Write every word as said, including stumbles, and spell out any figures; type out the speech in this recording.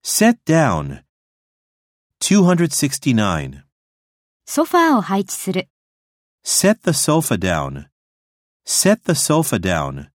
Set down. two hundred sixty-nine. ソファーを配置する。 Set the sofa down. Set the sofa down.